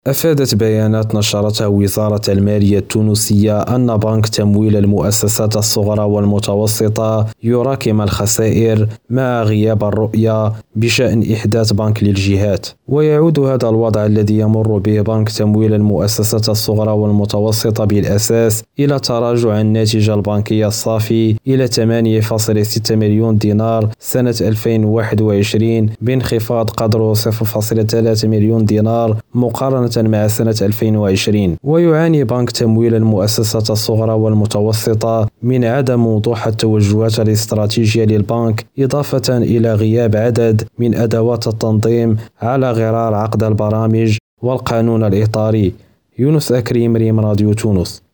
أفادت بيانات نشرتها وزارة المالية التونسية أن بنك تمويل المؤسسات الصغرى والمتوسطة يراكم الخسائر مع غياب الرؤية بشأن إحداث بنك للجهات. ويعود هذا الوضع الذي يمر به بنك تمويل المؤسسات الصغرى والمتوسطة بالأساس إلى تراجع الناتج البنكي الصافي إلى 8.6 مليون دينار سنة 2021 بانخفاض قدره 0.3 مليون دينار مقارنة مع سنة 2020. ويعاني بنك تمويل المؤسسات الصغرى والمتوسطة من عدم وضوح التوجهات الاستراتيجية للبنك، إضافة إلى غياب عدد من أدوات التنظيم على غرار عقد البرامج والقانون الإطاري. يونس أكريم، ريم راديو تونس.